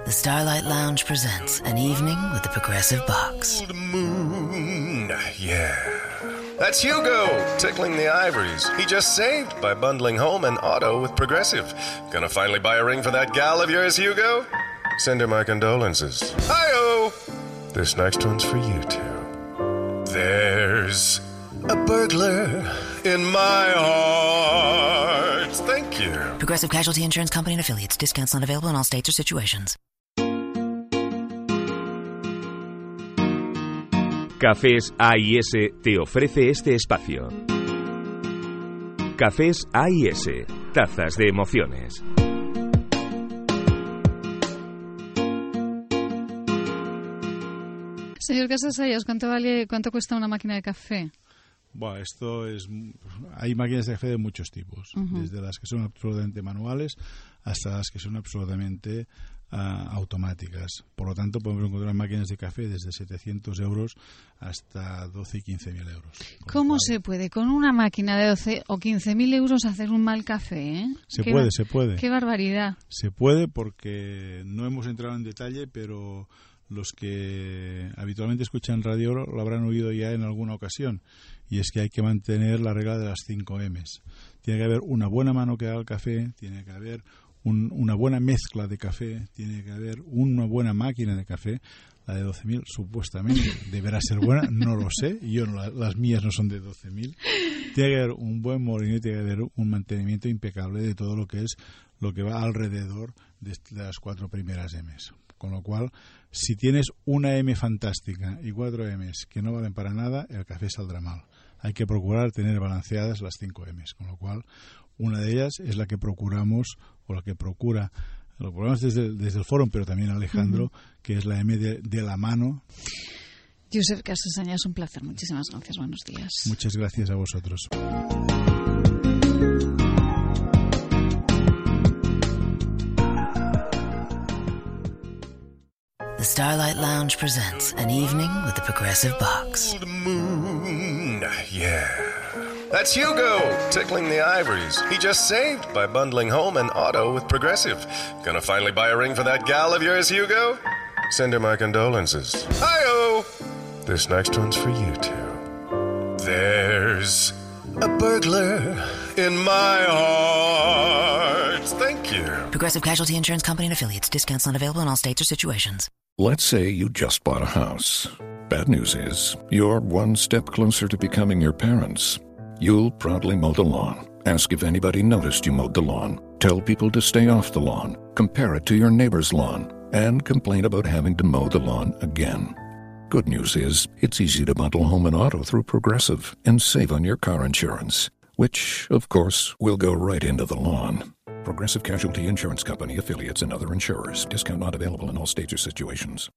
The Starlight Lounge presents An Evening with the Progressive Box. Old moon, yeah. That's Hugo, tickling the ivories. He just saved by bundling home and auto with Progressive. Gonna finally buy a ring for that gal of yours, Hugo? Send her my condolences. Hi-oh! This next one's for you two. There's a burglar in my heart. Thank you. Progressive Casualty Insurance Company and Affiliates. Discounts not available in all states or situations. Cafés A&S te ofrece este espacio. Cafés A&S, tazas de emociones. Señor Casasayas, ¿cuánto cuesta una máquina de café? Bueno, hay máquinas de café de muchos tipos, desde las que son absolutamente manuales hasta las que son absolutamente automáticas. Por lo tanto, podemos encontrar máquinas de café desde 700 euros hasta 12 y 15.000 euros. ¿Cómo se puede con una máquina de 12 o 15.000 euros hacer un mal café? Se puede. ¡Qué barbaridad! Se puede porque no hemos entrado en detalle, pero los que habitualmente escuchan radio lo habrán oído ya en alguna ocasión, y es que hay que mantener la regla de las 5 M's. Tiene que haber una buena mano que haga el café, tiene que haber una buena mezcla de café, tiene que haber una buena máquina de café. La de 12.000 supuestamente deberá ser buena, no lo sé, las mías no son de 12.000. Tiene que haber un buen molinillo, tiene que haber un mantenimiento impecable de todo lo que va alrededor de las 4 primeras M's. Con lo cual, si tienes una M fantástica y 4 M's que no valen para nada, el café saldrá mal. Hay que procurar tener balanceadas las 5 M's, con lo cual una de ellas es la que procuramos, o la que procura, lo procuramos desde el foro, pero también Alejandro, que es la M de la mano. Josep Casasañas, un placer. Muchísimas gracias. Buenos días. Muchas gracias a vosotros. The Starlight Lounge presents An Evening with the Progressive Box. Old moon, yeah. That's Hugo, tickling the ivories. He just saved by bundling home and auto with Progressive. Gonna finally buy a ring for that gal of yours, Hugo? Send her my condolences. Hi-oh! This next one's for you two. There's a burglar in my heart. Thank you. Progressive Casualty Insurance Company and Affiliates. Discounts not available in all states or situations. Let's say you just bought a house. Bad news is, you're one step closer to becoming your parents. You'll proudly mow the lawn. Ask if anybody noticed you mowed the lawn. Tell people to stay off the lawn. Compare it to your neighbor's lawn. And complain about having to mow the lawn again. Good news is, it's easy to bundle home and auto through Progressive and save on your car insurance, which, of course, will go right into the lawn. Progressive Casualty Insurance Company, affiliates, and other insurers. Discount not available in all states or situations.